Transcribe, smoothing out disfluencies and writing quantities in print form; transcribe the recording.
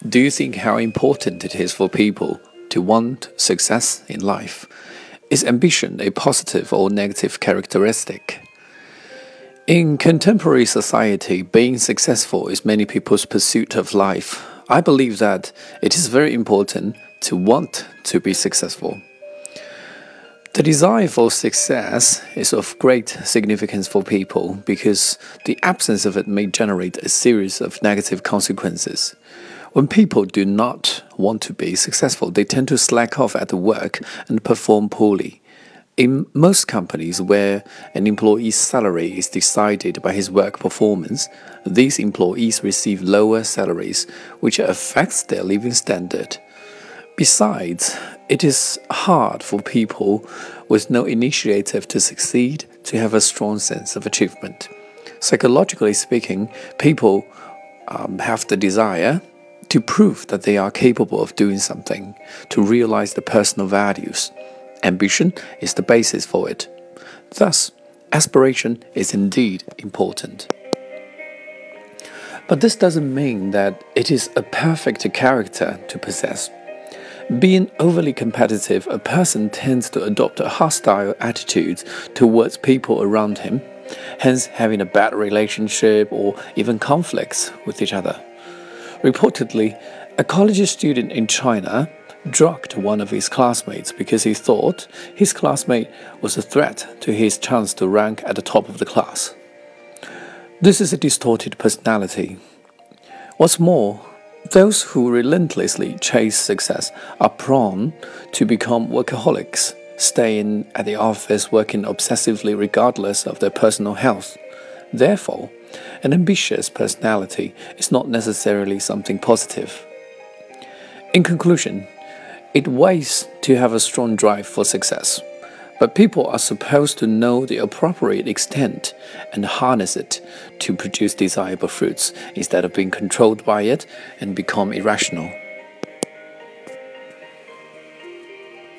Do you think how important it is for people to want success in life? Is ambition a positive or negative characteristic? In contemporary society, being successful is many people's pursuit of life. I believe that it is very important to want to be successful. The desire for success is of great significance for people because the absence of it may generate a series of negative consequences. When people do not want to be successful, they tend to slack off at the work and perform poorly. In most companies where an employee's salary is decided by his work performance, these employees receive lower salaries, which affects their living standard. Besides, it is hard for people with no initiative to succeed to have a strong sense of achievement. Psychologically speaking, people have the desire to prove that they are capable of doing something, to realize the personal values. Ambition is the basis for it. Thus, aspiration is indeed important. But this doesn't mean that it is a perfect character to possess. Being overly competitive, a person tends to adopt a hostile attitude towards people around him, hence having a bad relationship or even conflicts with each other. Reportedly, a college student in China drugged one of his classmates because he thought his classmate was a threat to his chance to rank at the top of the class. This is a distorted personality. What's more, those who relentlessly chase success are prone to become workaholics, staying at the office working obsessively regardless of their personal health. Therefore, an ambitious personality is not necessarily something positive. In conclusion, it weighs to have a strong drive for success, but people are supposed to know the appropriate extent and harness it to produce desirable fruits instead of being controlled by it and become irrational.